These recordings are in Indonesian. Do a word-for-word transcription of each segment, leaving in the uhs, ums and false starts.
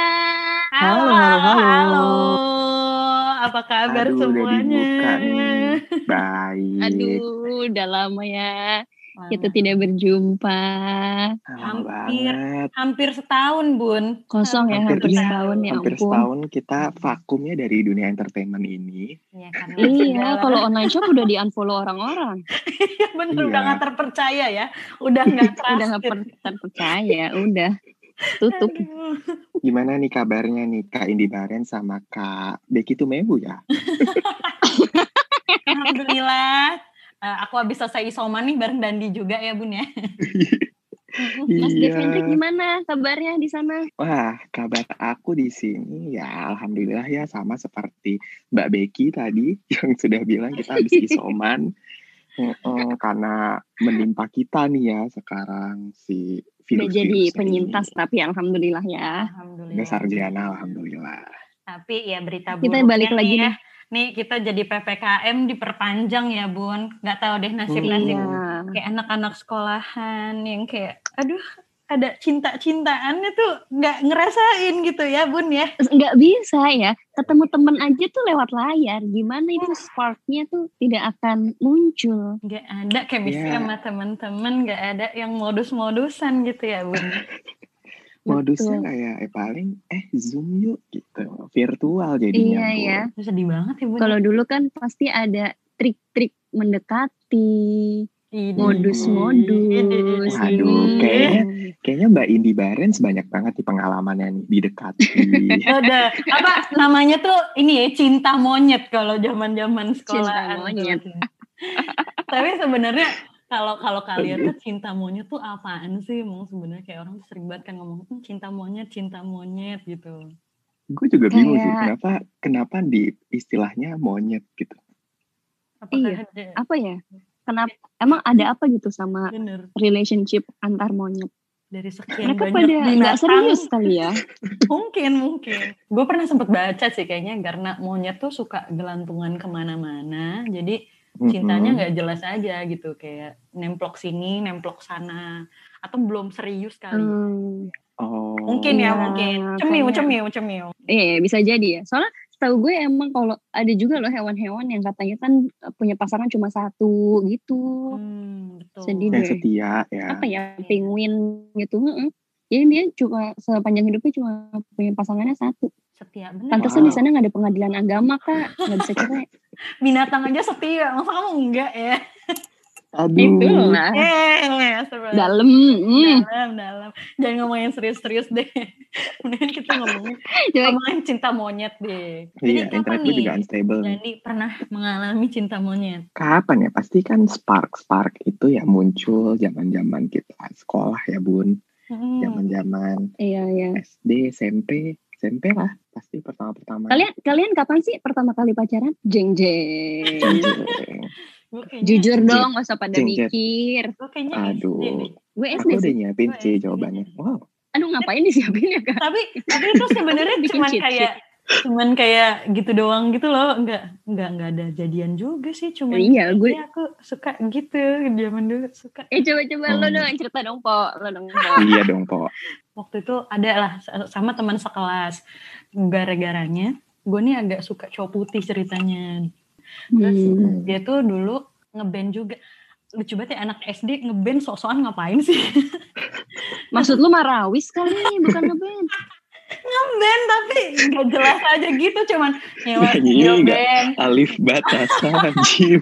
Halo, Halo, halo, halo. halo. Apa kabar Aduh, udah semuanya? dibuka nih. Baik. Aduh, udah lama ya Lama. kita tidak berjumpa. Lama Hampir, banget. hampir setahun, Bun. Kosong ya, Hampir, hampir iya, setahun ya hampir ampun. setahun kita vakumnya dari dunia entertainment ini. Iya, karena Iya, segala- kalau online shop udah di-unfollow orang-orang. Iya, bener, Iya. udah gak terpercaya ya. Udah gak trusted. Udah gak per- terpercaya, udah tutup. Aduh. Gimana nih kabarnya nih Kak Indi Baren sama Kak Becky Tumebu ya? Alhamdulillah. Eh, aku habis selesai isoman nih bareng Dandi juga ya, Bun ya. Mas Iya. Devendrik gimana kabarnya di sana? Wah, kabar aku di sini ya alhamdulillah ya sama seperti Mbak Becky tadi yang sudah bilang kita habis isoman. Mm-mm, karena menimpa kita nih ya sekarang si Udah virus jadi penyintas tapi alhamdulillah ya. Alhamdulillah. Udah sarjana alhamdulillah. Tapi ya berita Kita buruknya balik lagi nih ya. nih. Nih kita jadi P P K M diperpanjang ya, Bun. Gak tahu deh nasib-nasib Iya. kayak anak-anak sekolahan yang kayak aduh ada cinta-cintaannya tuh gak ngerasain gitu ya, Bun ya. Nggak bisa ya, ketemu temen aja tuh lewat layar. Gimana itu sparknya tuh tidak akan muncul. Gak ada chemistry Iya. sama teman-teman, gak ada yang modus-modusan gitu ya, Bun. Modusnya Betul. kayak eh paling eh zoom yuk gitu virtual jadinya. Iya Bu. ya. Itu sedih banget ya, Bun. Kalau dulu kan pasti ada trik-trik mendekati, Ide. modus-modus. Waduh, ini. kayaknya kayaknya Mbak Indi Barens banyak banget di pengalamannya nih didekati. Udah, apa namanya tuh ini ya cinta monyet kalau zaman-zaman sekolahan. Cinta monyet. tuh. Tapi sebenarnya kalau kalau kalian tuh cinta monyet tuh apaan sih? Emang sebenarnya kayak orang tuh sering banget kan ngomong "Hmm, cinta monyet, cinta monyet gitu. Gue juga bingung sih Kayak- kenapa kenapa di istilahnya monyet gitu. Apakah Iya. ada Apa ya? Kenapa? Emang ada apa gitu sama bener relationship antar monyet? dari sekian Mereka banyak pada nggak binatang? serius kali ya? Mungkin, mungkin. Gue pernah sempet baca sih kayaknya karena monyet tuh suka gelantungan kemana-mana. Jadi cintanya Mm-mm. nggak jelas aja gitu. Kayak nemplok sini, nemplok sana. Atau belum serius kali. Hmm, Oh. Mungkin ya, Iya, mungkin. Cemiu, kayaknya. cemiu, cemiu. iya bisa jadi ya. Soalnya setahu gue emang kalau ada juga loh hewan-hewan yang katanya kan punya pasangan cuma satu gitu. Hmm, betul. Sedih Yang deh. setia ya. Apa ya, penguin gitu. Heeh. Jadi dia cuma sepanjang hidupnya cuma punya pasangannya satu. Setia, bener. Pantesan Wow. di sana nggak ada pengadilan agama kak, nggak bisa cerai. Binatang aja setia. Masa kamu enggak ya? Aduh. Itulah Eh, astagfirullah. dalam. Hmm. dalam, dalam. Jangan ngomongin serius-serius deh. Mendingan kita ngomongin, Coba ngomongin cinta monyet deh. Jadi Iya, kapan internet gue nih? juga unstable nih. Jadi pernah mengalami cinta monyet. Kapan ya? Pasti kan spark-spark itu ya muncul zaman-zaman kita sekolah ya Bun. Hmm. Zaman-zaman iya iya. S D, S M P, S M P lah. Pasti pertama-pertama. Kalian kalian kapan sih pertama kali pacaran? Jeng jeng. Jeng-jeng. Gue kayaknya, Jujur Jeng- dong, gak usah pada jeng- jeng. mikir. gue kayaknya Aduh. S D deh. Gue S D Aku udah sih. nyiapin Gue sih S D. jawabannya. Wow. Aduh ngapain disiapin ya kak? Tapi tapi itu sebenarnya Bikin cuman cheat kayak cuman kayak gitu doang gitu loh. Enggak enggak enggak ada jadian juga sih. Cuman Iya, gue- ya aku suka gitu zaman dulu suka. Eh coba-coba lo Hmm. dong cerita dong po, lo dong po. Iya dong, Po. Waktu itu ada lah sama teman sekelas. Gara-garanya gue nih agak suka cowok putih ceritanya. Terus Hmm. dia tuh dulu ngeband juga. Lucu banget ya anak S D ngeband sok-sokan ngapain sih? Maksud lu marawis kali, bukan ngeband. Ngeband tapi gak jelas aja gitu. Cuman nyewa Nyanyi studio nggak? band. Alif batasan Jim.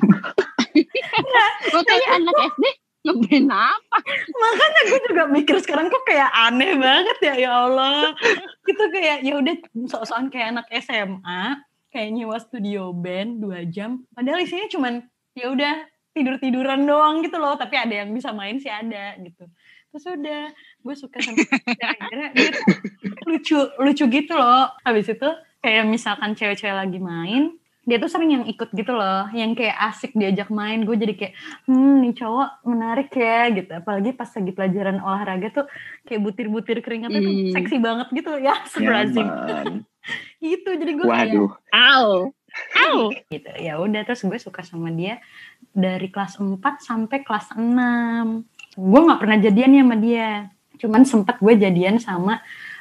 Makanya anak S D ngeband apa? Makanya gue juga mikir sekarang kok kayak aneh banget ya, ya Allah. Gitu kayak ya udah sok-sokan kayak anak S M A, kayak nyewa studio band dua jam. Padahal isinya cuman ya udah tidur-tiduran doang gitu loh, tapi ada yang bisa main sih ada gitu. Terus udah gue suka sama gara-gara dia tuh lucu lucu gitu loh. Habis itu kayak misalkan cewek-cewek lagi main, dia tuh sering yang ikut gitu loh, yang kayak asik diajak main. Gue jadi kayak hmm nih cowok menarik ya gitu. Apalagi pas lagi pelajaran olahraga tuh kayak butir-butir keringatnya tuh Hmm. seksi banget gitu ya, sebrazim Nyaman. gitu. Jadi gue kayak Waduh. Au. Au. gitu. Ya udah terus gue suka sama dia dari kelas empat sampai kelas enam. Gue nggak pernah jadian ya sama dia. Cuman sempet gue jadian sama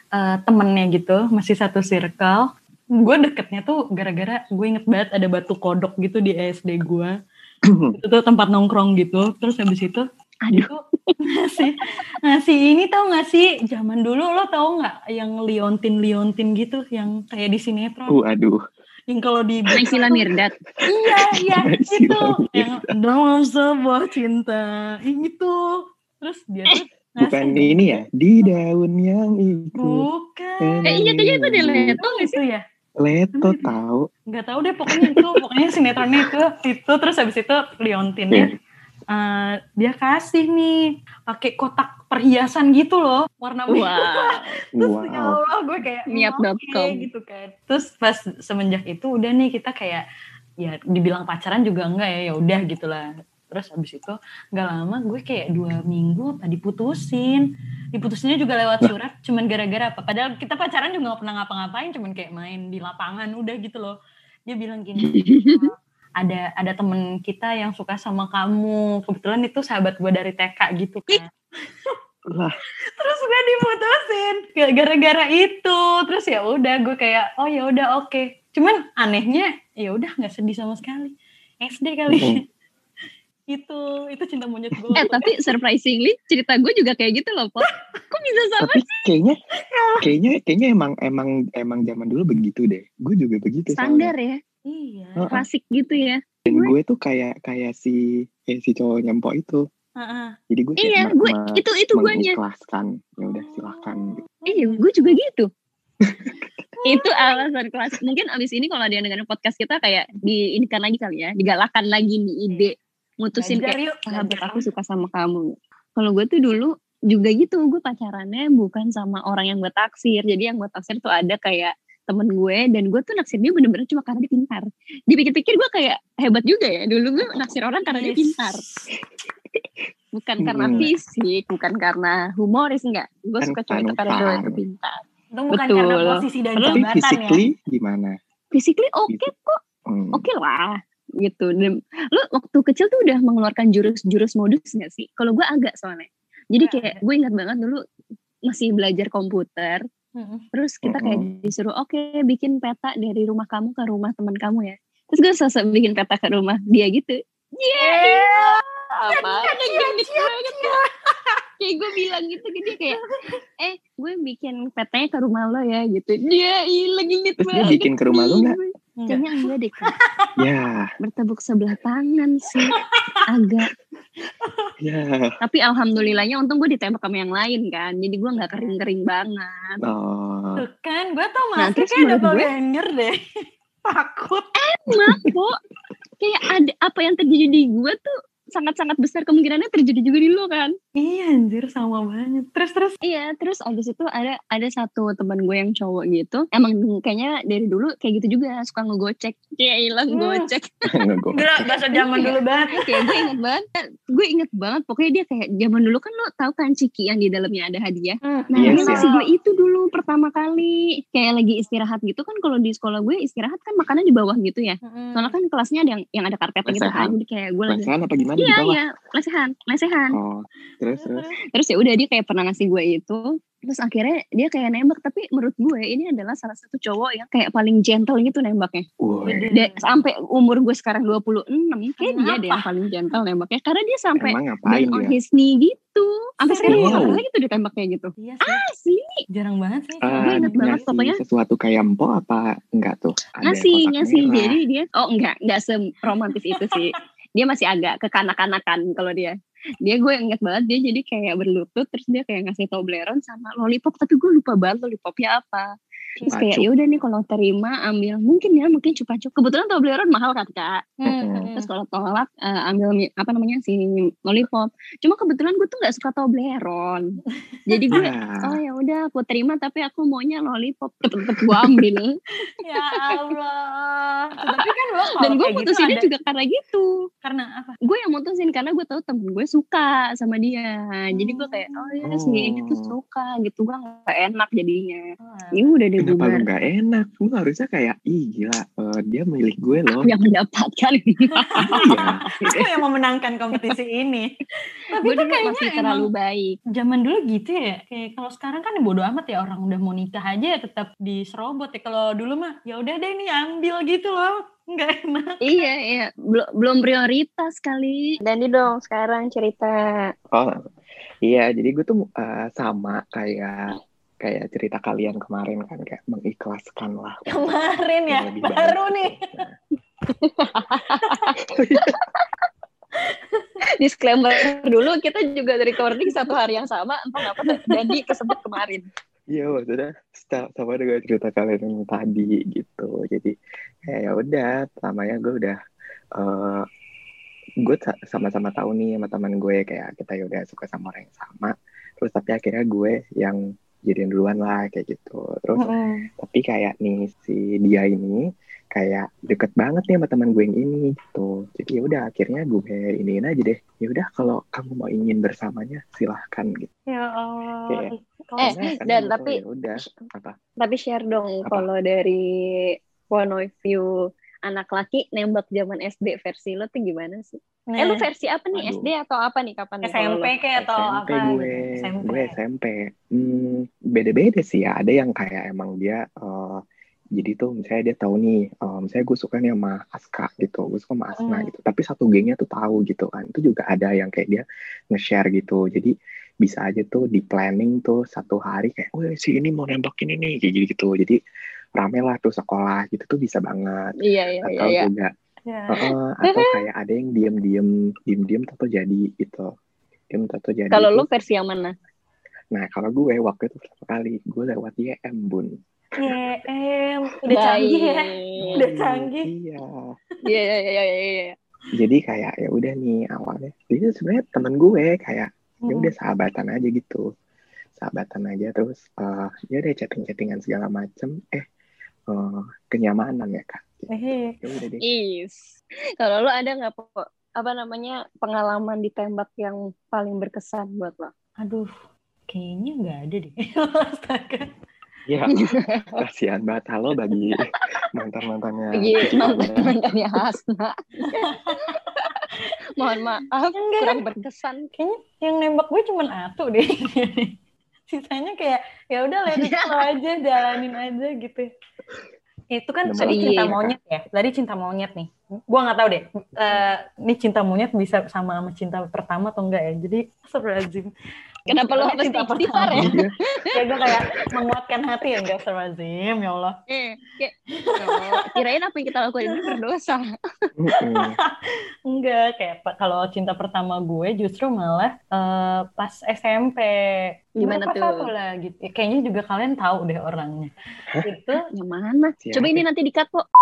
uh, temennya gitu, masih satu circle. Gue deketnya tuh gara-gara gue inget banget ada batu kodok gitu di S D gue. Itu tuh tempat nongkrong gitu. Terus habis itu Aduh. ngasih ngasih ini tau gak sih, zaman dulu lo tau gak yang liontin-liontin gitu yang kayak di sinetron. Uh, aduh. Yang kalau di Naysila Mirdad. Iya, iya, Naysila itu Mirdad. yang dalam sebuah cinta itu. Terus dia tuh Bukan ini ya, di daun yang itu. Bukan. Eh iya kayaknya itu ada Leto gak sih? Itu ya? Leto tahu. Gak tahu deh, pokoknya itu, pokoknya sinetronnya itu, itu terus habis itu liontinnya. Uh, dia kasih nih pakai kotak perhiasan gitu loh, warna merah. Wow. Terus Wow. ya Allah gue kayak niat dot com okay, gitu kan. Terus pas semenjak itu udah nih kita kayak ya dibilang pacaran juga enggak ya, ya udah gitulah. Terus habis itu nggak lama gue kayak dua minggu tadi putusin. Diputusinnya juga lewat surat, cuman gara-gara apa? Padahal kita pacaran juga nggak pernah ngapa-ngapain, cuman kayak main di lapangan udah gitu loh. Dia bilang gini, ada ada temen kita yang suka sama kamu, kebetulan itu sahabat gue dari T K gitu kan. Lah. Terus gue diputusin gara-gara itu. Terus ya udah gue kayak oh ya udah oke. Okay. Cuman anehnya ya udah nggak sedih sama sekali. S D kali. Mm. itu itu cinta monyet gue. Eh tapi surprisingly cerita gue juga kayak gitu loh, Pop. Kok bisa sama tapi sih? kayaknya kayaknya kayaknya emang emang emang zaman dulu begitu deh. Gue juga begitu. Standar soalnya. ya. Iya. Uh-uh. Klasik gitu ya. Dan gue tuh kayak kayak si kayak si cowok nyempok itu. Uh-uh. Jadi gue kayak iya, mer- gue mer- itu itu guanya. mengikhlaskan. Ya udah silahkan. Gitu. Iya, gue juga gitu. Itu alasan klasik. Mungkin abis ini kalau dia dengerin podcast kita kayak diinikan lagi kali ya, digalakan lagi nih ide mutusin Belajar kayak yuk, sahabat belajar. aku suka sama kamu. Kalau gue tuh dulu juga gitu, gue pacarannya bukan sama orang yang gue taksir. Jadi yang gue taksir tuh ada kayak temen gue, dan gue tuh naksir dia bener-bener cuma karena dia pintar. Dipikir-pikir gue kayak hebat juga ya. Dulu gue naksir orang karena dia pintar. Bukan karena Hmm. fisik, bukan karena humoris, enggak. Gue Kan suka cowok itu karena fun-fun. cowok itu pintar. Itu bukan Betul. karena posisi dan Tapi jabatan ya. physically gimana? Physically oke okay kok, Hmm. oke okay lah gitu. Dan lu waktu kecil tuh udah mengeluarkan jurus-jurus modus nggak sih? Kalau gue agak soalnya. Jadi kayak gue ingat banget dulu masih belajar komputer. Mm-mm. Terus kita kayak Mm-mm. disuruh oke okay, bikin peta dari rumah kamu ke rumah teman kamu ya. Terus gue sosok bikin peta ke rumah dia gitu. Yeah, apa? Genit banget. Kayak gue bilang gitu ke dia kayak, eh gue bikin petanya ke rumah lo ya gitu. Dia hilang genit Terus dia banget. bikin ke rumah lu nggak? Kayaknya enggak deh Kak. Ya, Bertepuk sebelah tangan sih. Agak. ya. Tapi alhamdulillahnya untung gue ditembak sama yang lain kan. Jadi gue gak kering-kering banget. Oh. Tuh kan, gue tau Nah, masih terus kayak menurut gue- doppelganger deh. Takut. Emang kok. Kayak ada apa yang terjadi di gue tuh sangat-sangat besar kemungkinannya terjadi juga di lo kan. Iya anjir, sama banget. Terus-terus. Iya, terus abis itu ada ada satu teman gue yang cowok gitu. Emang kayaknya dari dulu kayak gitu juga, suka ngegocek. Kayak hilang Hmm. gocek. Ngego. Gila, bahasa zaman dulu banget. Kayak gue inget banget. Gue inget banget. Pokoknya dia kayak zaman dulu kan lo tahu kan ciki yang di dalamnya ada hadiah. Hmm. Nah Yes, dia ya. ngasih gue itu dulu pertama kali. Kayak lagi istirahat gitu kan. Kalau di sekolah gue istirahat kan makannya di bawah gitu ya. Mm-mm. Soalnya kan kelasnya ada yang yang ada karpetnya gitu kan. Lesehan. Jadi kayak gue lagi. Lesehan apa gimana di Iya bawah? iya lesehan lesehan. Oh, terus terus. Terus ya udah dia kayak pernah ngasih gue itu. Terus akhirnya dia kayak nembak. Tapi menurut gue ini adalah salah satu cowok yang kayak paling gentle gitu nembaknya. Woi, Dia, sampai umur gue sekarang dua puluh enam. Kayak dia Kenapa? deh yang paling gentle nembaknya. Karena dia sampai emang ngapain down on dia? his knee gitu. Sampai sekarang gue Wow. gak pernah gitu ditembak kayak gitu. Iya sih. Sih Jarang banget sih. Ah, gue inget banget ngasih pokoknya. sesuatu kayak empo apa enggak tuh? Ada ngasih kotak ngasih merah. jadi dia oh enggak enggak seromantis itu sih. Dia masih agak kekanak-kanakan kalau dia. Dia gue inget banget dia jadi kayak berlutut terus dia kayak ngasih Toblerone sama lollipop tapi gue lupa banget lollipopnya apa. Terus kayak Cupa-cup. ya udah nih kalau terima ambil mungkin ya mungkin cupa-cup. Kebetulan Toblerone mahal kan Kak. Hmm. Terus kalau tolak uh, ambil mi- apa namanya si lollipop. Cuma kebetulan gue tuh nggak suka Toblerone. Jadi gue Ya. oh ya udah aku terima tapi aku maunya lollipop. Tetep gue ambil. Ya Allah. Tapi kan lo kalau Dan gue kayak gitu mutusinnya ada- juga karena gitu. karena apa? Gue yang mutusin karena gue tahu temen gue suka sama dia. Jadi gue kayak oh ya si ini tuh Oh. suka gitu. Gue gak enak jadinya. Oh, Ya udah deh gue kenapa lu bubar. nggak enak? Lu harusnya kayak, ih gila, eh, dia milik gue loh. Yang mendapatkan. Iya. Aku yang memenangkan kompetisi ini. Tapi Gue itu dulu kayaknya masih emang terlalu baik. zaman dulu gitu ya. Kayak kalau sekarang kan bodo amat ya, orang udah mau nikah aja tetap diserobot ya. Kalau dulu mah ya udah deh nih ambil gitu loh. Nggak enak. Iya, iya. Belum belum prioritas kali. Dandi dong sekarang cerita. Oh iya, jadi gue tuh uh, sama kayak kayak cerita kalian kemarin kan, kayak mengikhlaskan lah untuk Kemarin ya, yang lebih baik baru gitu. nih. Nah, Disclaimer dulu, kita juga dari recording satu hari yang sama. Entah kenapa Dandi kesebut kemarin. Iya maksudnya sta- sama dengan cerita kalian yang tadi gitu. Jadi kayak ya udah, pertamanya gue udah uh, gue sa- sama-sama tahu nih sama teman gue kayak kita ya udah suka sama orang yang sama. Terus tapi akhirnya gue yang jadian duluan lah kayak gitu. Terus Mm-mm. tapi kayak nih si dia ini kayak deket banget nih sama teman gue yang ini gitu. Jadi ya udah akhirnya gue iniin aja deh. Ya udah kalau kamu mau ingin bersamanya silahkan gitu. Ya Allah. Kayak Kalau Eh, karena karena dan gue tapi tuh ya udah apa tapi share dong apa kalau dari point of view anak laki nembak zaman S D versi lo tuh gimana sih? Eh lu Nah, versi apa nih? S D waduh atau apa nih? Kapan nih kalau S M P lo? kayak atau S M P apa gue gitu? S M P. gue S M P hmm, beda-beda sih ya. Ada yang kayak emang dia uh, jadi tuh misalnya dia tahu nih uh, misalnya gue suka nih sama Aska gitu, gue suka sama Asna Mm. gitu, tapi satu gengnya tuh tahu gitu kan. Itu juga ada yang kayak dia nge-share gitu, jadi bisa aja tuh di planning tuh satu hari kayak, wah si ini mau nembakin ini kayak gitu, jadi rame lah tuh sekolah gitu tuh bisa banget. Iya, iya, iya, Atau iya. juga Ya. uh, atau kayak ada yang diem-diem diem-diem tato jadi gitu, diem tato jadi Kalau lo itu. versi yang mana? Nah kalau gue waktu itu pertama kali gue lewat Y M bun. Y M udah canggih ya, Baik. udah canggih. Iya. Iya, iya, iya, iya, iya. Jadi kayak ya udah nih awalnya. Jadi sebenarnya temen gue kayak ya udah Mm. sahabatan aja gitu, sahabatan aja terus uh, ya udah chatting-chattingan segala macem. Eh uh, kenyamanan ya kak. Eh, Ya udah deh. Is. Kalau lo ada nggak po apa namanya pengalaman ditembak yang paling berkesan buat lo? aduh, kayaknya nggak ada deh. Astaga. Ya kasihan banget halo bagi mantan-mantannya. Bagi Cici Farida. mantan-mantannya Hasna. Mohon maaf, Enggak. kurang berkesan. Kayaknya yang nembak gue cuman Atu deh. Sisanya kayak ya udah let it flow aja, jalanin aja gitu. Itu kan Nomor tadi satu cinta ya, Kak. monyet ya. Tadi cinta monyet nih. Gua nggak tahu deh. Eh, ini cinta monyet bisa sama sama cinta pertama atau enggak ya. Jadi astagfirullahaladzim. Kenapa lo Maksudnya harus cinta istighfar ya? Iya. Ya gue kayak menguatkan hati ya, enggak astagfirullahaladzim, ya Allah. Eh, kayak, oh, kirain apa yang kita lakukan ini berdosa. Mm-mm. Enggak, kayak pa- kalau cinta pertama gue justru malah eh, pas S M P. Gimana Berapa tuh? satu lah gitu. Ya, kayaknya juga kalian tahu deh orangnya. Itu Yang mana? Siapa? Coba ini nanti di-cut kok.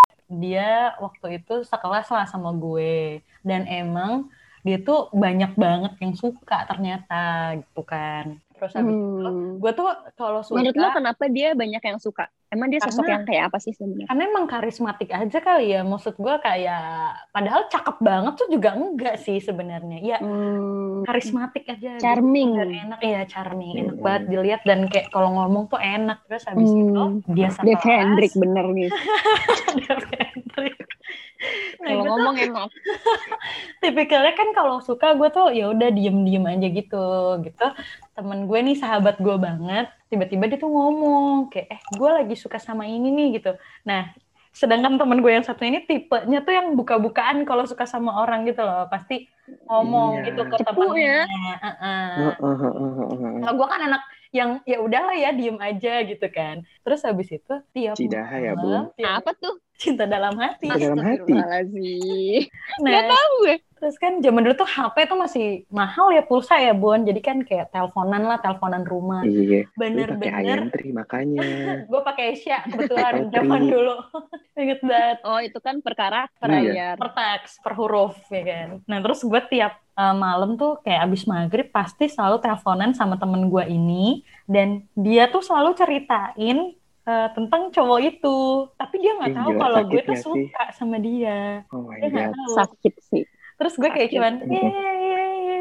dia waktu itu sekelas lah sama gue. Dan emang dia tuh banyak banget yang suka ternyata gitu kan. Terus habis itu Hmm. gue tuh kalau suka Menurut lo kenapa dia banyak yang suka? Emang dia sosok Karena- yang kayak apa sih sebenarnya? karena emang karismatik aja kali ya. Maksud gue kayak padahal cakep banget tuh juga enggak sih sebenarnya. Ya Hmm. karismatik aja. Charming. Dan enak ya, charming. Enak Hmm. banget dilihat dan kayak kalau ngomong tuh enak. Terus habis Hmm. itu dia Dev sekelas. Hendrik bener nih. Dev Hendrik. Nah, Kalau gue tuh ngomong enak. tipikalnya kan kalau suka gue tuh ya udah diem-diem aja gitu gitu. Temen gue nih sahabat gue banget, tiba-tiba dia tuh ngomong kayak eh gue lagi suka sama ini nih gitu. Nah sedangkan temen gue yang satu ini tipenya tuh yang buka-bukaan kalau suka sama orang gitu loh, pasti ngomong Iya. gitu ke Cepu temennya. ya. Uh-uh. Heeh. Kalau gue kan anak yang ya udahlah ya diem aja gitu kan. Terus habis itu tiap Cidaha ya, malam, Bun. tiap Apa tuh? cinta dalam hati. Cinta dalam hati. Astagfirullahaladzim. Nah, Gak tahu gue. terus kan zaman dulu tuh H P tuh masih mahal ya, pulsa ya Bon. Jadi kan kayak teleponan lah, teleponan rumah. Iya. Lu pakai Bener-bener. iEntry makanya. Gue pakai Asia kebetulan Atau zaman Tri. dulu. Ingat banget. Oh itu kan per karakter Iya. bayar. Per teks, per huruf ya kan. Nah terus gue tiap uh, malam tuh kayak abis maghrib pasti selalu teleponan sama temen gue ini. Dan dia tuh selalu ceritain uh, tentang cowok itu. Tapi dia gak Ih, tahu gila, kalau gue sakit tuh gak sih? suka sama dia. Oh my Dia gak god. tahu. Sakit sih. Terus gue kayak Sakit. cuman Mm-mm. ye ye ye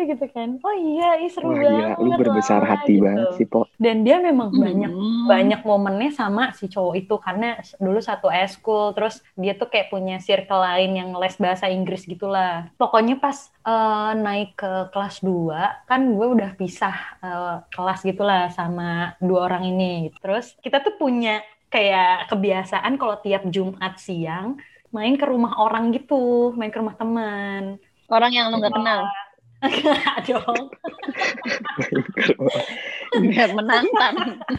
gitu kan. Oh iya, ih seru Wah banget. gila, lu berbesar lah, hati gitu. banget sih, Po. Dan dia memang Hmm. banyak banyak momennya sama si cowok itu karena dulu satu eskul, terus dia tuh kayak punya circle lain yang les bahasa Inggris gitulah. Pokoknya pas uh, naik ke kelas dua kan gue udah pisah uh, kelas gitulah sama dua orang ini. Terus kita tuh punya kayak kebiasaan kalau tiap Jumat siang main ke rumah orang gitu, main ke rumah teman. Orang yang lo nggak kenal. Enggak dong. Biar menantang.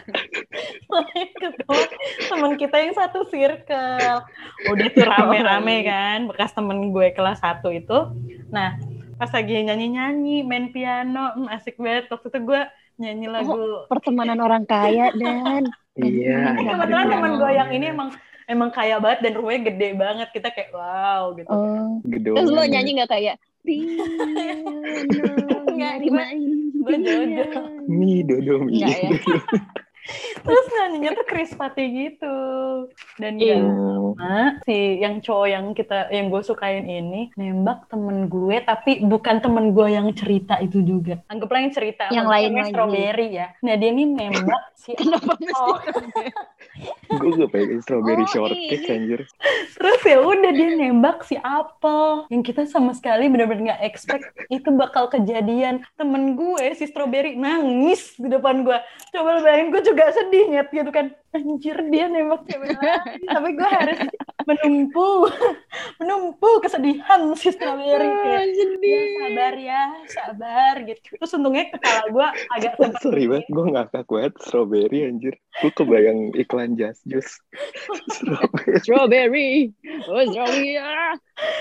Main ke rumah teman kita yang satu circle. Udah tuh rame-rame kan, bekas temen gue kelas satu itu. Nah, pas lagi nyanyi-nyanyi, main piano, hmm, asik banget. Waktu itu gue nyanyi lagu. Oh, pertemanan orang kaya, Dan. Iya. Kebetulan teman gue yang ini emang emang kaya banget dan rumahnya gede banget. Kita kayak wow gitu. Oh. Gedung. Terus lo nyanyi nggak kayak piano nyari main gue jojo. Mi dodo mi. Nggak ya? Terus nyanyinya tuh Chris Patti gitu. Dan Iya. gak lama si yang cowok yang kita yang gue sukain ini nembak temen gue, tapi bukan temen gue yang cerita itu juga. Anggaplah yang cerita Yang sama lain gue, lagi. Strawberry ya. Nah dia nih nembak si Kenapa mesti oh. Gue gak pengen strawberry Oh, shortcake ini. anjir. Terus ya udah dia nembak si Apple yang kita sama sekali benar-benar nggak expect itu bakal kejadian. Temen gue si Strawberry nangis di depan gue. Coba lu bayangin, gue juga sedih nyet gitu kan. Anjir dia nembak cewek lain, tapi gue harus menumpu menumpu kesedihan si Strawberry kayak ya sabar ya sabar gitu. Terus untungnya kepala gue agak sempat Sorry banget, gue ngakak banget strawberry anjir. Gue kebayang iklan Just Juice. Strawberry. Strawberry. Oh, strawberry. Ah.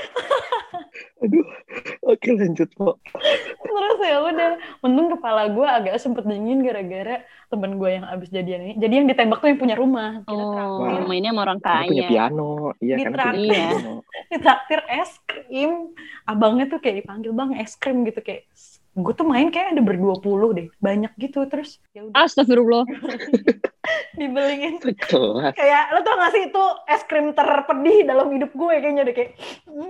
Aduh, oke lanjut, Po. Terus ya udah, untung kepala gue agak sempet dingin gara-gara temen gue yang abis jadian ini. Jadi yang ditembak tuh yang punya rumah. Kita Oh, traktir, mainnya sama orang Karena punya kaya. piano. Iya Di kan trak- punya Iya. piano. ditraktir es krim. Abangnya tuh kayak dipanggil bang es krim gitu kayak. Gue tuh main kayak ada berdua puluh deh, banyak gitu. Terus ya udah Astagfirullah. dibeliin. Sekelas. Kayak lo tau gak sih itu es krim terpedih dalam hidup gue kayaknya deh kayak.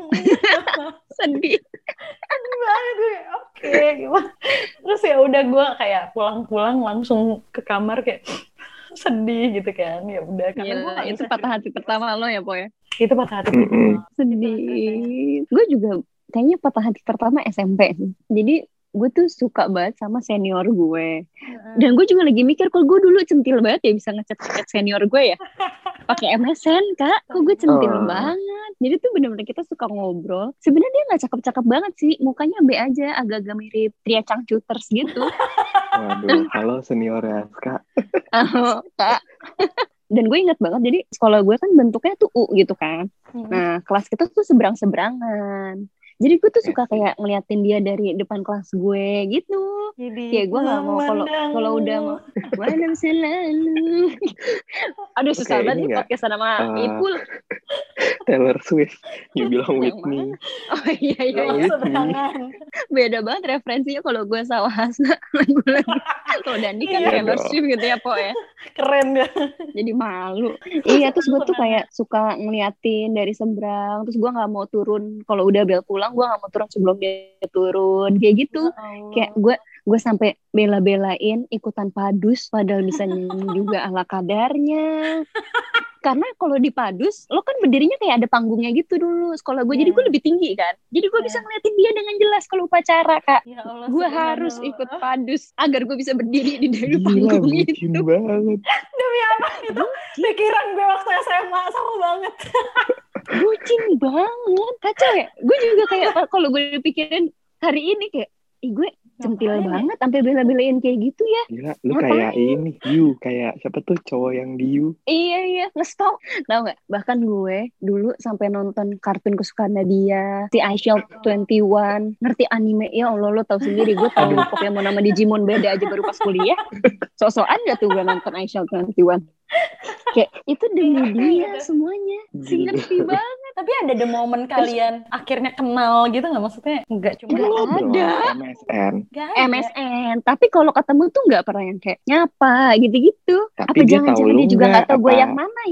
Sedih. Aduh banget gue, oke gimana. Terus ya udah gue kayak pulang-pulang langsung ke kamar kayak sedih gitu kan. Ya udah karena gue Gila, gak itu bisa patah hati pertama lo ya, Po ya? itu patah hati Mm-mm. pertama. Sedih. Gue juga kayaknya patah hati pertama S M P sih. Jadi gue tuh suka banget sama senior gue. Dan gue juga lagi mikir, kok gue dulu centil banget ya bisa ngechat-ngechat senior gue ya. Pakai M S N, Kak. Kok gue centil Oh. banget. Jadi tuh bener-bener kita suka ngobrol. Sebenarnya dia gak cakep-cakep banget sih. Mukanya B aja, agak-agak mirip Tria Changcuters gitu. Waduh, halo senior ya, Kak. Oh, Kak. Dan gue ingat banget, jadi sekolah gue kan bentuknya tuh U gitu kan. Nah, kelas kita tuh seberang-seberangan. Jadi gue tuh suka kayak ngeliatin dia dari depan kelas gue gitu. Jadi Kayak gue gak mau kalau kalau udah mau malam selalu. Aduh susah Oke, banget ini nih nggak, podcast sama uh, Ipul. Taylor Swift. You bilang Yang Whitney. Oh iya iya Oh, iya. seberangan. Beda banget referensinya kalau gue sama Hasna lagu-lagu. Kalau Dandi kan Iya Taylor dong. Swift gitu ya, Po ya. Keren ya. Jadi malu. Iya, terus gue tuh kayak suka ngeliatin dari seberang. Terus gue nggak mau turun kalau udah bel pulang, gue nggak mau turun sebelum dia turun. Kayak gitu. Kayak gue gue sampai bela-belain ikutan padus padahal bisa nyanyi juga ala kadarnya. Karena kalau di padus lo kan berdirinya kayak ada panggungnya gitu dulu sekolah gue. Yeah. Jadi gue lebih tinggi kan. Jadi gue Yeah. bisa ngeliatin dia dengan jelas kalau upacara, Kak. Ya Allah, Gue subhanallah. harus ikut padus agar gue bisa berdiri di dari Gila, panggung bucin itu. banget. Demi apa itu pikiran gue waktu S M A sama banget. Bucin banget. Kacau ya. Gue juga kayak kalau gue pikirin hari ini kayak, ih gue centil Ngapain ya? banget sampai bela-belain kayak gitu ya. Gila, lu Ngapain? kayak ini, You, kayak siapa tuh cowok yang di You? Iya iya ngestok. Tahu nggak? Bahkan gue dulu sampai nonton kartun kesukaan dia, si I Shall twenty-one. Ngerti anime ya Allah, lo tahu sendiri. Gue tahu Pokemon nama Digimon beda aja baru pas kuliah. Sok-sokan gak tuh gue nonton I Shall twenty-one. Kayak itu demi dia semuanya. Si Gila. ngerti banget. Tapi ada the moment kalian akhirnya kenal gitu nggak? Maksudnya nggak cuma Nggak Ngobrol, ada. M S N. nggak M ada. S N, tapi kalau ketemu tuh nggak pernah yang kayak nyapa gitu-gitu. Tapi Apa dia tahu jangan-jangan lu dia juga nggak, nggak tahu gue apa? yang mana ya?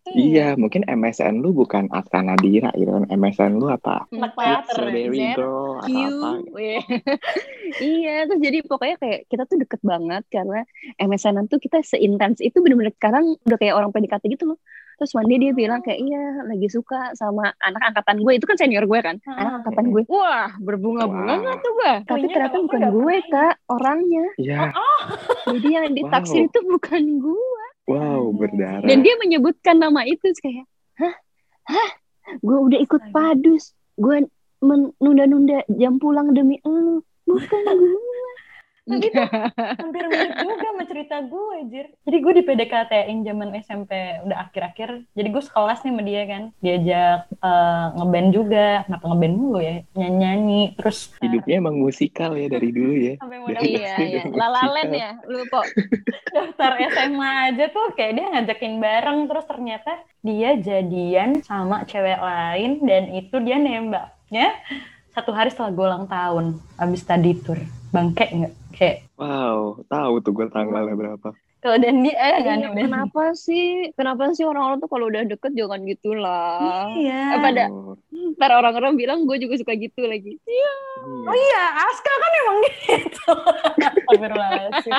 Iya, mungkin M S N lu bukan Aska Nadira gitu kan. M S N lu apa? Empat Strawberry Z Girl Q. atau apa? Weh. Iya, terus jadi pokoknya kayak kita tuh deket banget karena M S N-an tuh kita seintens itu, bener-bener sekarang udah kayak orang P D K T gitu loh. Terus one day dia bilang kayak iya lagi suka sama anak angkatan gue, itu kan senior gue kan, anak angkatan gue. Wah, berbunga-bunga nggak Wah. tuh gue? Tapi Kayaknya ternyata kalau bukan gue gue nggak kak orangnya. Iya, Jadi yang ditaksir Wow. itu bukan gue. wow berdarah. Dan dia menyebutkan nama itu terus kayak, hah, hah, gue udah ikut Astaga. padus, gue menunda-nunda jam pulang demi elu, bukan gue. Tapi tuh hampir mirip juga sama cerita gue, Jir. Jadi gue di P D K T-in zaman S M P udah akhir-akhir. Jadi gue sekelas nih sama dia kan. Diajak uh, ngeband juga. Kenapa ngeband mulu ya? Nyanyi-nyanyi. Terus Hidupnya emang musikal ya dari dulu ya. sampai Dari modal Iya, S D iya. udah Lalalen musikal. ya, lu kok. daftar S M A aja tuh kayak dia ngajakin bareng. Terus ternyata dia jadian sama cewek lain. Dan itu dia nembaknya satu hari setelah gue ulang tahun. Abis study tour. Bangke nggak? Kayak Wow, tahu tuh gue tanggalnya berapa. kalau Dandi eh nggak Iya, nih kenapa sih? Kenapa sih orang-orang tuh kalau udah deket jangan gitu lah. Iya. Eh, pada Oh, ntar orang-orang bilang gue juga suka gitu lagi. Iya. Oh iya. iya, Aska kan emang gitu. Astagfirullahaladzim.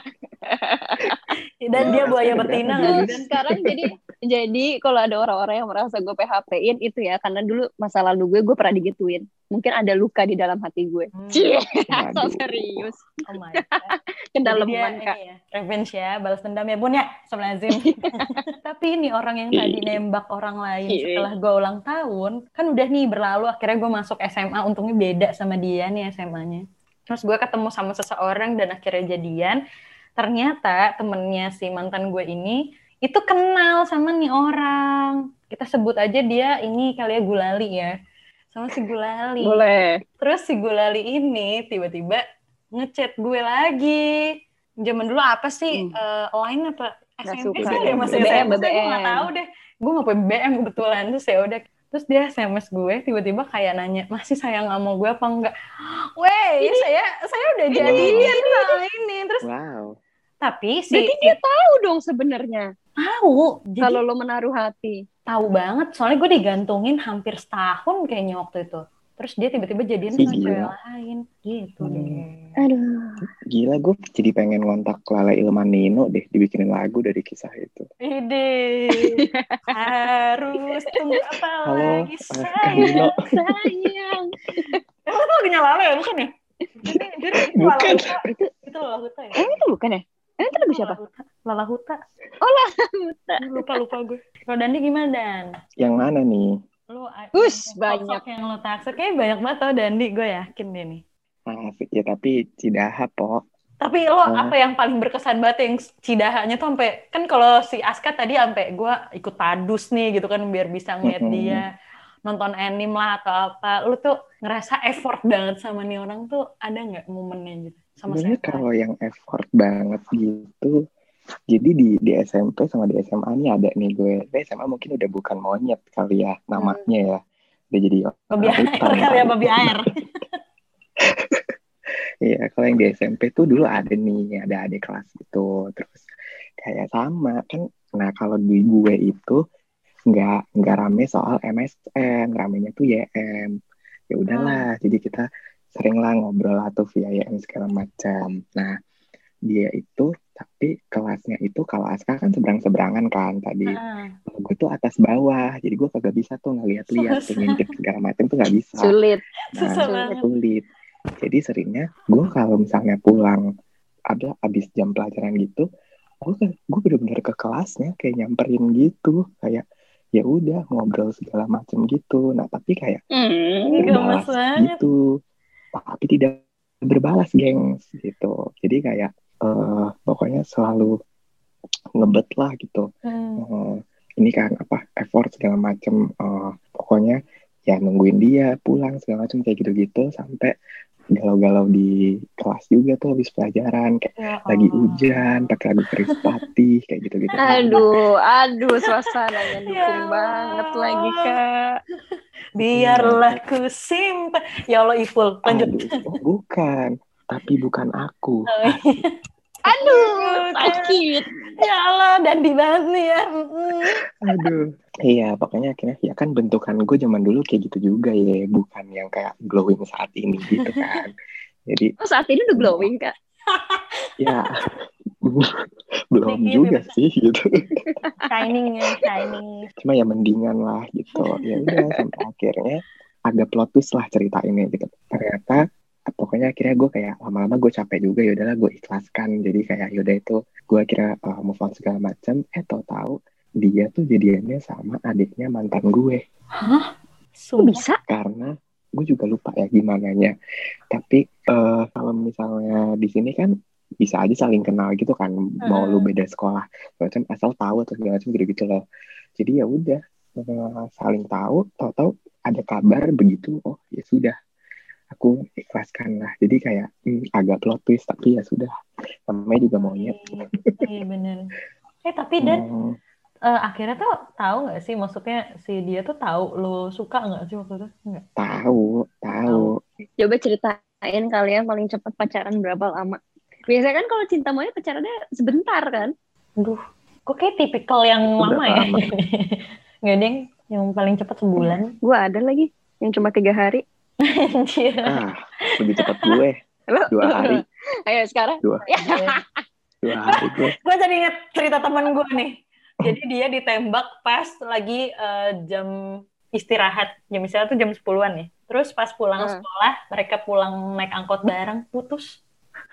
Dan dia Aska buaya ada betina berapa nggak dulu? sih? Dan sekarang jadi jadi kalau ada orang-orang yang merasa gue P H P-in itu ya karena dulu masa lalu gue gue pernah digituin. Mungkin ada luka di dalam hati gue. Hmm. Cie, Waduh. so serius. Oh my god. Jadi dia Kedalaman ini kak. ya, revenge ya, balas dendam ya bun ya, Astagfirullahaladzim. Tapi ini orang yang tadi nembak orang lain setelah gue ulang tahun, kan udah nih berlalu, akhirnya gue masuk S M A, untungnya beda sama dia nih S M A-nya. Terus gue ketemu sama seseorang dan akhirnya jadian. Ternyata temennya si mantan gue ini itu kenal sama nih orang. Kita sebut aja dia ini kali ya Gulali ya. Sama si Gulali. Boleh. Terus si Gulali ini tiba-tiba ngechat gue lagi. Zaman dulu apa sih? Hmm. Uh, line apa? Nggak S M P suka. kan ya masih B B M, S M P. B B M. Gue nggak tahu deh. Gue nggak punya B B M kebetulan. Terus ya udah. Terus dia S M S gue tiba-tiba kayak nanya, masih sayang sama gue apa enggak? Weh, ya saya saya udah jadian sama ini. Terus Wow. tapi si Berarti dia tahu dong sebenarnya. tahu. Jadi Kalau lo menaruh hati. tahu banget. Soalnya gue digantungin hampir setahun kayaknya waktu itu. Terus dia tiba-tiba jadian Ih, sama cewek gila. lain. Gitu Hmm. deh. Aduh. Gila, gue jadi pengen ngontak Lala Ilman Nino deh, dibikinin lagu dari kisah itu. Ide. Harus tunggu apa Halo, lagi eh, Kak sayang. Nino. Sayang. Emang itu lagunya Lala ya? Bukan ya? Jadi, jadi itu Lala Bukan. Huta. Itu Lala Huta ya? Emang itu bukan ya? Emang itu lagu siapa? Lala Huta. Lala Huta. Huta. Lupa-lupa gue. Kalau Dandi gimana, Dan? Yang mana nih? Lu Us, sosok banyak. yang lo taksir. Kayaknya banyak banget tau Dandi. Gue yakin deh nih. Asik ya, tapi Cidaha, po. Tapi lo Oh. apa yang paling berkesan banget yang Cidahanya tuh sampai kan kalau si Aska tadi sampai gue ikut padus nih gitu kan biar bisa ngeliat Mm-mm. dia nonton anime lah atau apa. Lu tuh ngerasa effort banget sama nih orang tuh ada nggak momennya gitu sama Sebenarnya saya? kalau yang effort banget gitu, jadi di di S M P sama di S M A nih ada nih gue. Di S M A mungkin udah bukan monyet kali ya namanya ya. Udah jadi Babi orang air hutan kali ya, kali. babi air. Iya, kalau yang di S M P tuh dulu ada nih, ada adik kelas gitu. Terus kayak sama kan. Nah, kalau di gue itu nggak nggak rame soal M S N, ramenya tuh Y M. Ya udahlah, jadi kita sering lah ngobrol atau via Y M segala macam. Nah, dia itu tapi kelasnya itu kalau Aska kan seberang-seberangan kan tadi. Ah, Kalau gue tuh atas bawah, jadi gue kagak bisa tuh ngeliat-liat, tuh Susah. ngintip segala macam tuh nggak bisa. Sulit. susah Nah, banget. sulit. Jadi seringnya gue kalau misalnya pulang ada abis jam pelajaran gitu, gue kan gue bener-bener ke kelasnya kayak nyamperin gitu, kayak ya udah ngobrol segala macam gitu. Nah tapi kayak Hmm. Gemes berbalas banget. gitu, tapi tidak berbalas gengs gitu. Jadi kayak eh, pokoknya selalu ngebet lah gitu. Hmm. Eh, ini kan apa effort segala macam. Eh, pokoknya ya nungguin dia pulang segala macam kayak gitu-gitu sampai galau-galau di kelas juga tuh habis pelajaran kayak Ya lagi Allah. hujan pakai lagu Krispatih kayak gitu-gitu. Aduh, aduh, suasananya dukung Ya banget Allah. lagi kak. Biarlah ku simpan. Ya Allah Ipul, lanjut. Aduh, oh, bukan, tapi bukan aku. Oh, iya. Aduh, sakit. Ya Allah, dandy banget nih ya. Mm. Aduh. Iya, pokoknya akhirnya ya kan bentukan gue zaman dulu kayak gitu juga ya, bukan yang kayak glowing saat ini gitu kan. Jadi Oh, saat ini udah glowing, Kak. ya belum Dikit juga gitu. sih gitu. Shining ya, shining. Cuma ya mendingan lah gitu. Ya udah sampai akhirnya agak plot twist lah cerita ini gitu. Ternyata pokoknya akhirnya gue kayak lama-lama gue capek juga, ya udahlah gue ikhlaskan. Jadi kayak yaudah itu gue akhirnya uh, move on segala macam. Eh tahu-tahu dia tuh jadiannya sama adiknya mantan gue. Hah? Kok Sumpah. bisa? Karena gue juga lupa ya gimana nya. Tapi uh, kalau misalnya di sini kan bisa aja saling kenal gitu kan, mau lu beda sekolah macam asal tahu atau segala macam gitu-gitu loh. Jadi ya udah uh, saling tahu, tahu-tahu ada kabar begitu, oh ya sudah aku ikhlaskan lah. Jadi kayak hmm, agak plot twist tapi ya sudah, namanya juga monyet. Iya bener. Eh tapi Dan Hmm, uh, akhirnya tuh tahu nggak sih, maksudnya si dia tuh tahu lo suka nggak sih waktu itu? Nggak. tahu, tahu. Coba ceritain kalian paling cepat pacaran berapa lama? Biasanya kan kalau cinta monyet pacarannya sebentar kan? Aduh, kok kayak tipikal yang Berapa lama ya? lama? Nggak deng, yang paling cepat sebulan. Gue ada lagi yang cuma tiga hari. Anjir. Ah, lebih cepat gue. Lo, Dua hari. Ayo sekarang. Dua, dua hari gue. Gue jadi inget cerita temen gue nih. Jadi dia ditembak pas lagi uh, jam istirahat. Jam istirahat tuh jam sepuluhan nih. Terus pas pulang Hmm. sekolah, mereka pulang naik angkot bareng, putus.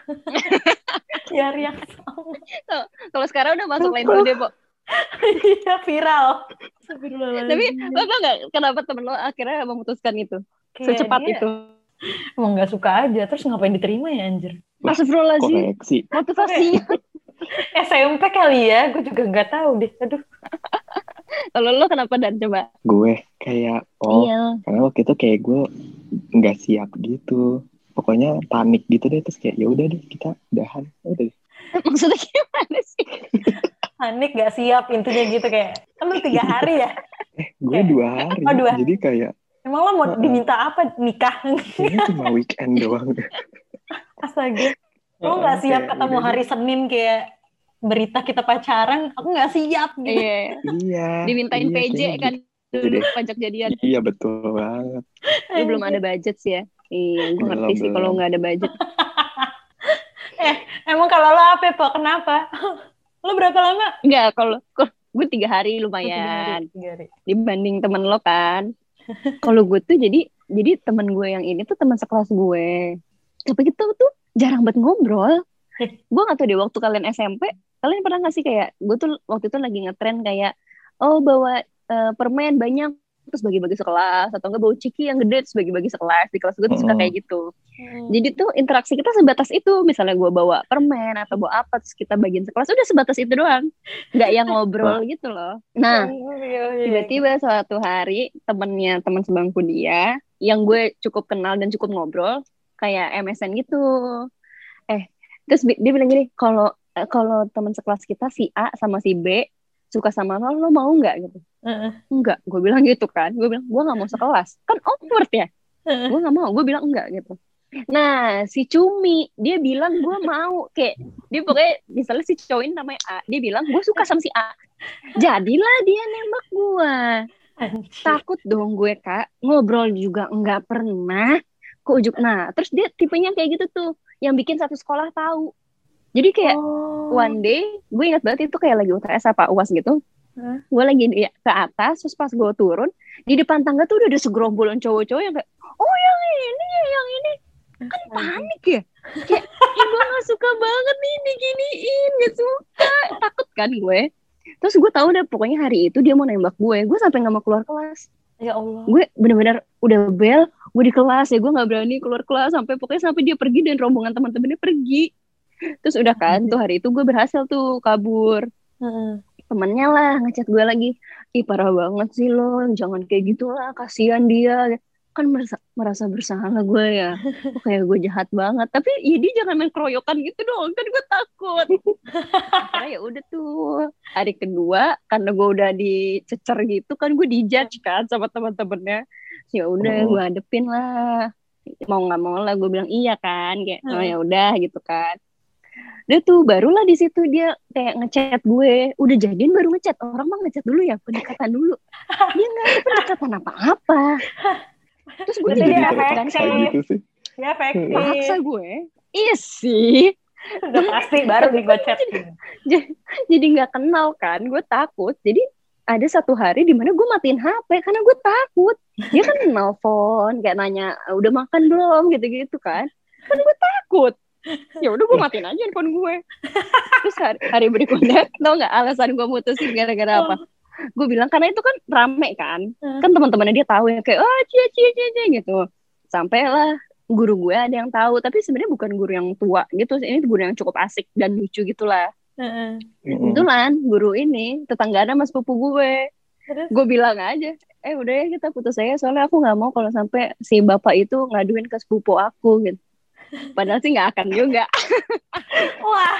Ya yang sama. Kalau sekarang udah masuk lain deh, Bo. Iya, viral. Tapi lo tau gak kenapa temen lo akhirnya memutuskan itu? Kayak Secepat dia itu. emang gak suka aja. Terus ngapain diterima ya anjir? Astagfirullahaladzim. Koreksi. Motivasinya. S M P kali ya, gue juga gak tahu deh. Aduh. Kalau lo kenapa Dan coba? Gue kayak oh Iya. karena waktu itu kayak gue nggak siap gitu, pokoknya panik gitu deh, terus kayak ya udah deh kita udahan, udah deh. Maksudnya gimana sih? Panik gak siap intinya gitu kayak. Kan lu tiga hari ya? Eh gue Kayak- dua hari, Oh, dua. jadi kayak Emang lo mau Uh-uh. diminta apa? Nikah? kayaknya cuma weekend doang. Astaga. Lo gak siap Kayak ketemu udah hari deh. Senin kayak berita kita pacaran, aku gak siap gitu. Iya. Iya. Dimintain iya, P J kayaknya kan gitu dulu deh. pajak jadian. Iya betul banget. Lu belum ada budget sih ya? Iya, gue Belum, ngerti sih kalau belum. nggak ada budget. Eh, emang kalau lo apa, Po? Kenapa? Lo berapa lama? Enggak, kalau gue tiga hari Oh, tiga hari, lumayan tiga hari. dibanding temen lo kan. Kalau gue tuh jadi jadi temen gue yang ini tuh teman sekelas gue. Tapi kita tuh jarang banget ngobrol. Gue nggak tahu deh waktu kalian S M P, kalian pernah nggak sih kayak gue tuh waktu itu lagi ngetren kayak oh bawa uh, permen banyak terus bagi-bagi sekelas, atau enggak bawa ciki yang gede terus bagi-bagi sekelas. Di kelas gue tuh suka Mm. kayak gitu. Hmm. Jadi tuh interaksi kita sebatas itu. Misalnya gue bawa permen atau bawa apa terus kita bagiin sekelas, udah sebatas itu doang. Nggak yang ngobrol gitu loh. Nah, tiba-tiba suatu hari temennya teman sebangku dia yang gue cukup kenal dan cukup ngobrol kayak M S N gitu. Eh, terus dia bilang gini, kalau eh, kalau teman sekelas kita si A sama si B suka sama lo, lo mau nggak gitu? Uh-uh. Enggak, gue bilang gitu kan. Gue bilang gue nggak mau sekelas. Kan awkward ya. Uh-uh. Gue nggak mau. Gue bilang enggak gitu. Nah, si Cumi dia bilang gue mau, kayak dia pokoknya misalnya si cowok ini namanya A, dia bilang gue suka sama si A. Jadilah dia nembak gue. Takut dong gue Kak, ngobrol juga enggak pernah. Ke ujung. Nah, terus dia tipenya kayak gitu tuh, yang bikin satu sekolah tahu. Jadi kayak Oh. one day, gue ingat banget itu kayak lagi U T S apa U A S gitu. Huh? Gue lagi di, ke atas, terus pas gue turun, di depan tangga tuh udah ada segerombolan cowok-cowok yang kayak, oh yang ini, yang ini. Kan panik ya. Kayak, ih gue gak suka banget nih diginiin, gak suka. Takut kan gue. Terus gue tahu deh pokoknya hari itu dia mau nembak gue. Gue sampai gak mau keluar kelas. Ya Allah. Gue bener-bener udah bel, gue di kelas ya, gue gak berani keluar kelas sampai pokoknya sampai dia pergi dan rombongan teman-temannya pergi. Terus udah kan tuh hari itu gue berhasil tuh kabur. Uh-uh. Temennya lah ngechat gue lagi, ih parah banget sih lo, jangan kayak gitu lah, kasihan dia. Kan merasa, merasa bersalah gue ya, kok kayak gue jahat banget. Tapi ya dia jangan main keroyokan gitu dong, kan gue takut. Karena ya udah tuh hari kedua, karena gue udah dicecer gitu kan, gue dijudge kan sama teman-temannya. Ya udah gue hadepin lah, mau nggak mau lah gue bilang iya kan, kayak oh ya udah gitu kan. Dia tuh barulah di situ dia kayak ngechat gue, udah jadian baru ngechat. Orang mah ngechat dulu ya, pendekatan dulu. Dia nggak ada pendekatan apa-apa. Terus gue Berarti jadi dia terpaksa efektif. gitu sih. Ya efektif. paksa gue. Iya sih. Udah pasti baru di gue chat. Jadi nggak kenal kan, gue takut. Jadi ada satu hari di mana gue matiin H P karena gue takut. Dia kan nelfon kayak nanya udah makan belum gitu-gitu kan. Kan gue takut. Ya udah gue matiin aja handphone gue. Terus hari, hari berikutnya tau nggak alasan gue mutusin gara-gara apa? Gue bilang karena itu kan rame kan. Kan teman-temannya dia tahu ya kayak oh cie cie cie cie gitu. Sampailah guru gue ada yang tahu, tapi sebenarnya bukan guru yang tua gitu. Ini guru yang cukup asik dan lucu gitulah. Heeh. Kebetulan guru ini tetanggaan sama sepupu gue. Gue bilang aja, eh udah ya kita putus aja soalnya aku nggak mau kalau sampai si bapak itu ngaduin ke sepupu aku gitu. Padahal sih nggak akan juga. Wah,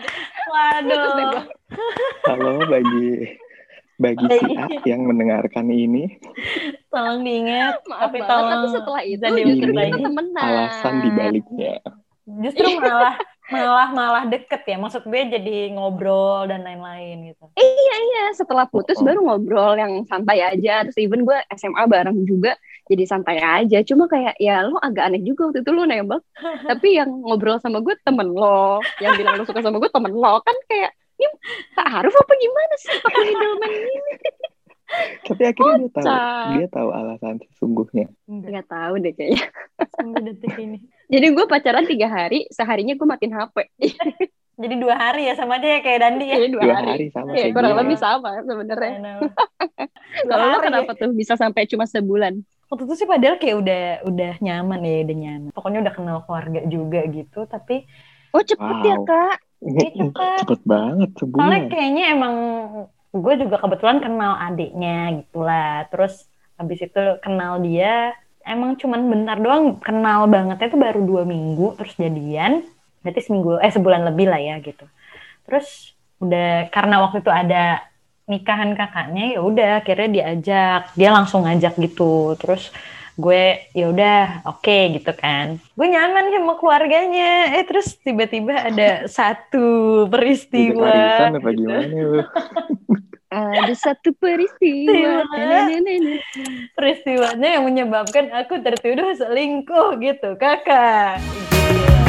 waduh. Halo bagi bagi si A yang mendengarkan ini, Tolong diingat, Maaf tapi banget, tolong tapi setelah itu jangan justru diulang kita lagi. temenan. alasan dibaliknya. Justru malah malah malah deket ya, maksud gue jadi ngobrol dan lain-lain gitu. Iya, setelah putus Oh. baru ngobrol yang santai aja. Terus even gue S M A bareng juga, jadi santai aja. Cuma kayak ya lo agak aneh juga waktu itu lo nembak. Tapi yang ngobrol sama gue temen lo, yang bilang lo suka sama gue temen lo. Kan kayak, ini tak harus apa gimana sih pakai middleman ini? Tapi akhirnya dia tahu, Kocak. dia tahu alasan sesungguhnya. Enggak, Gak tahu deh kayaknya. sampai detik ini. Jadi gue pacaran tiga hari, seharinya gue matiin H P. Jadi dua hari ya sama aja ya kayak Dandi ya. Jadi dua, Dua hari. hari sama Ya, kayak kurang gue. lebih sama sebenarnya. I know. Dua Kalau lo hari kenapa ya. tuh bisa sampai cuma sebulan? Waktu itu sih padahal kayak udah udah nyaman ya, udah nyaman. Pokoknya udah kenal keluarga juga gitu, tapi Oh cepet ya Wow. kak? Iya, cepet. Cepet banget soalnya sebulan. kayaknya emang gue juga kebetulan kenal adiknya gitulah. Terus habis itu kenal dia, emang cuman bentar doang, kenal bangetnya itu baru dua minggu, terus jadian, berarti seminggu, eh sebulan lebih lah ya gitu. Terus udah karena waktu itu ada nikahan kakaknya, ya udah akhirnya diajak, dia langsung ngajak gitu. Terus gue ya udah oke okay, gitu kan, gue nyaman sama keluarganya. Eh terus tiba-tiba ada satu peristiwa Arisan apa gitu. gimana lu? Ada satu peristiwa. Nenek-nenek. Peristiwanya yang menyebabkan aku tertuduh selingkuh gitu kakak. Gila.